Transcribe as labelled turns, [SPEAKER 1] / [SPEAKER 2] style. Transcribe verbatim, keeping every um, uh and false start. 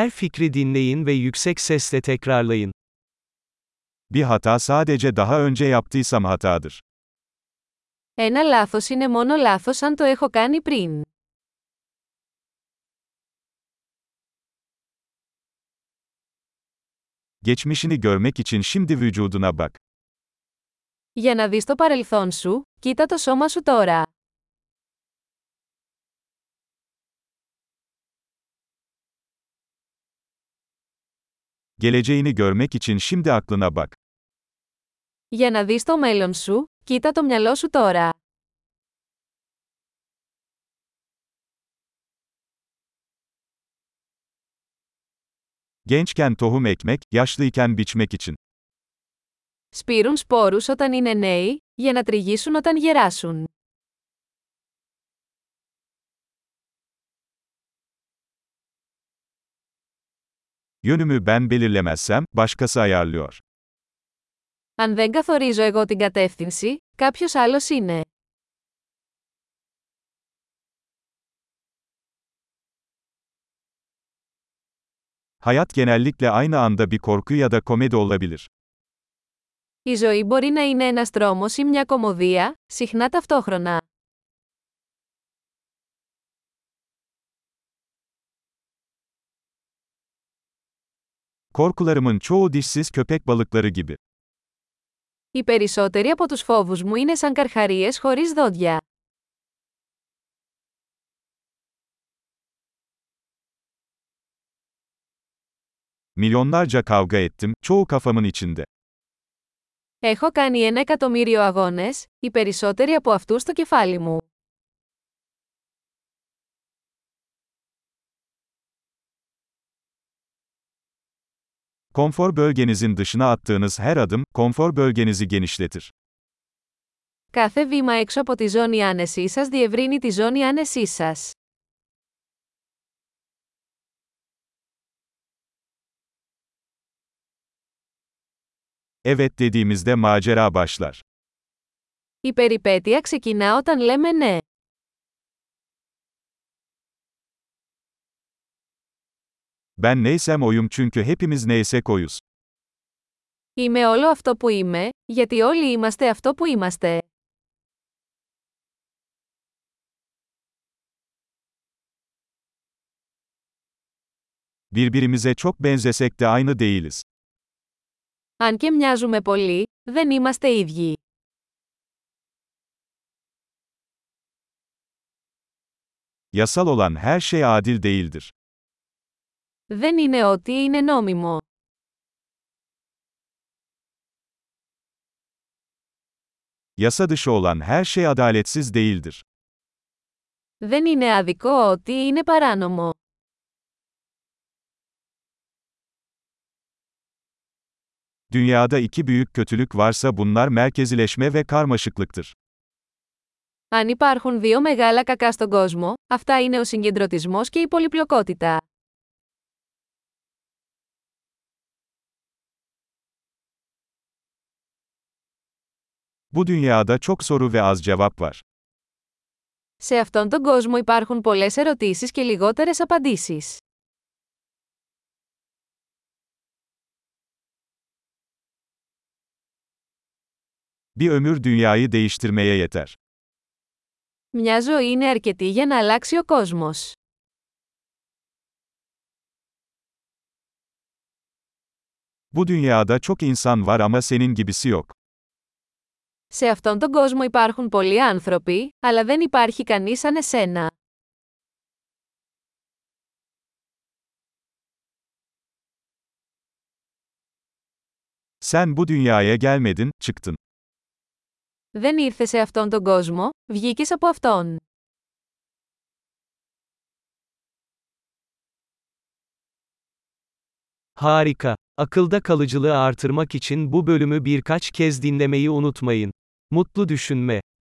[SPEAKER 1] Her fikri dinleyin ve yüksek sesle tekrarlayın.
[SPEAKER 2] Bir hata sadece daha önce yaptıysam hatadır.
[SPEAKER 3] Ένα λάθος είναι μόνο λάθος αν το έχω κάνει πριν.
[SPEAKER 2] Geçmişini görmek için şimdi vücuduna bak.
[SPEAKER 3] Για να δεις το παρελθόν σου, κοίτα το σώμα σου τώρα.
[SPEAKER 2] Geleceğini görmek için şimdi aklına bak.
[SPEAKER 3] Για να δεις το μέλλον σου, κοίτα το μυαλό σου τώρα.
[SPEAKER 2] Gençken tohum ekmek, yaşlıyken biçmek için.
[SPEAKER 3] Σπείρουν σπόρους όταν είναι νέοι, για να τριγύσουν όταν γεράσουν.
[SPEAKER 2] Yönümü ben belirlemezsem, başkası ayarlıyor.
[SPEAKER 3] Αν δεν καθορίζω εγώ την κατεύθυνση, κάποιος άλλος είναι.
[SPEAKER 2] Hayat genellikle aynı anda bir korku ya da komedi olabilir.
[SPEAKER 3] Η ζωή μπορεί να είναι ένας τρόμος ή μια κωμωδία, συχνά ταυτόχρονα.
[SPEAKER 2] Korkularımın çoğu dişsiz köpek balıkları gibi.
[SPEAKER 3] Οι περισσότεροι από τους φόβους μου είναι σαν καρχαρίες χωρίς δόντια.
[SPEAKER 2] Milyonlarca kavga ettim, çoğu kafamın içinde.
[SPEAKER 3] Έχω κάνει ένα εκατομμύριο αγώνες, οι περισσότεροι από αυτούς στο κεφάλι μου.
[SPEAKER 2] Konfor bölgenizin dışına attığınız her adım, konfor bölgenizi genişletir.
[SPEAKER 3] Κάθε βήμα έξω από τη ζώνη άνεσής σας διευρύνει τη ζώνη άνεσής σας.
[SPEAKER 2] Evet dediğimizde macera başlar.
[SPEAKER 3] Η περιπέτεια ξεκινά όταν λέμε ναι.
[SPEAKER 2] Ben neysem oyum çünkü hepimiz neysek oyuz.
[SPEAKER 3] Είμαι όλο αυτό που είμαι, γιατί όλοι είμαστε αυτό που είμαστε.
[SPEAKER 2] Birbirimize çok benzesek de aynı değiliz.
[SPEAKER 3] Αν και μοιάζουμε πολύ, δεν είμαστε ίδιοι.
[SPEAKER 2] Yasal olan her şey adil değildir.
[SPEAKER 3] Δεν είναι ό,τι είναι νόμιμο.
[SPEAKER 2] Yasa dışı olan her şey adaletsiz değildir.
[SPEAKER 3] Δεν είναι άδικο ό,τι είναι παράνομο.
[SPEAKER 2] Dünyada iki büyük kötülük varsa bunlar merkezileşme ve karmaşıklıktır.
[SPEAKER 3] Αν υπάρχουν δύο μεγάλα κακά στον κόσμο, αυτά είναι ο συγκεντρωτισμός και η πολυπλοκότητα.
[SPEAKER 2] Bu dünyada çok soru ve az cevap var.
[SPEAKER 3] Σε αυτόν τον κόσμο υπάρχουν πολλές ερωτήσεις και λιγότερες απαντήσεις.
[SPEAKER 2] Bir ömür dünyayı değiştirmeye yeter.
[SPEAKER 3] Μια ζωή είναι αρκετή για να αλλάξει ο κόσμος.
[SPEAKER 2] Bu dünyada çok insan var ama senin gibisi yok.
[SPEAKER 3] Σε αυτόν τον κόσμο υπάρχουν πολλοί άνθρωποι, αλλά δεν υπάρχει κανείς σαν εσένα.
[SPEAKER 2] Sen bu dünyaya gelmedin, çıktın.
[SPEAKER 3] Δεν ήρθες σε αυτόν τον κόσμο, βγήκες από αυτόν.
[SPEAKER 1] Harika. Akılda kalıcılığı artırmak için bu bölümü birkaç kez dinlemeyi unutmayın. Mutlu düşünme.